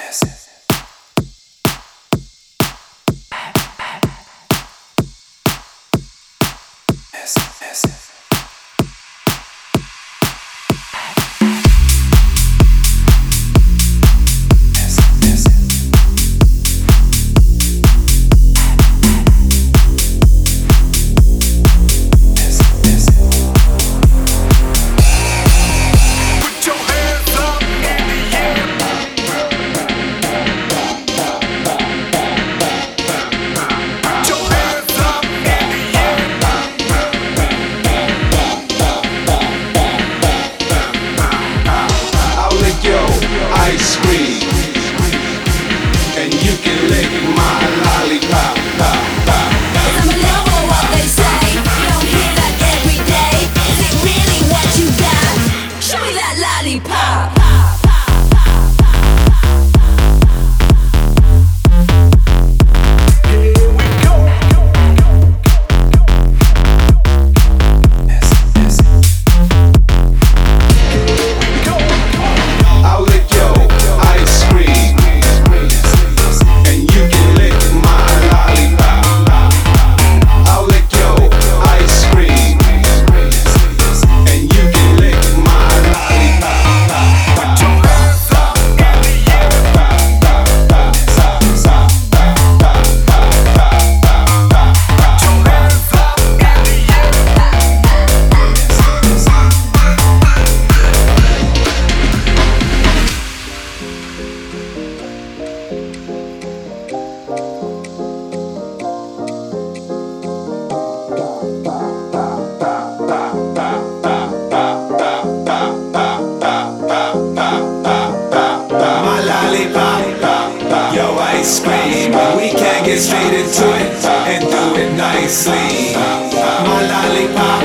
Ice cream, and you can lick my lollipop. I'm a lover, what they say. You don't hear that every day. Is it really what you got? Show me that lollipop. Ice cream, we can get straight into it and do it nicely. My lollipop,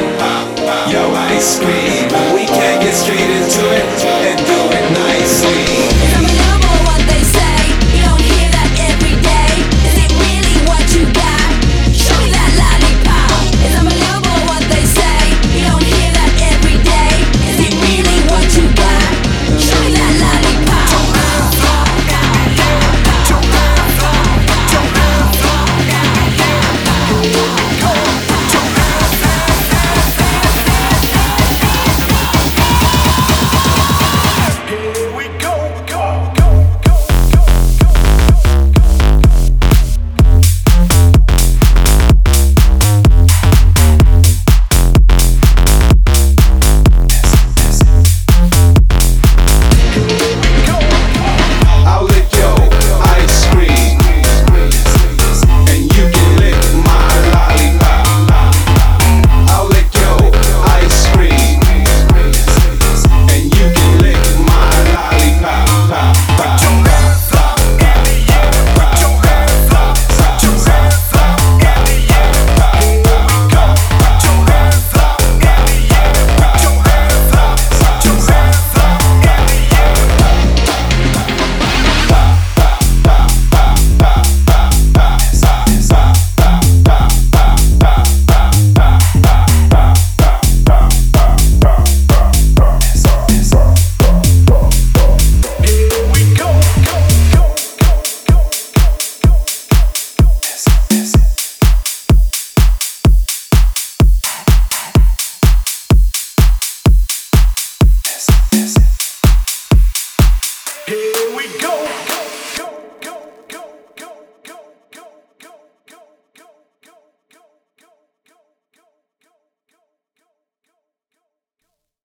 yo, ice cream, we can get straight into it and do it nicely. I'm a lover, what they say. You don't hear that every day. Is it really what you got? Show me that lollipop. I'm a lover, what they say. You don't hear that every day. Is it really what you got? Show me that lollipop. Here we go.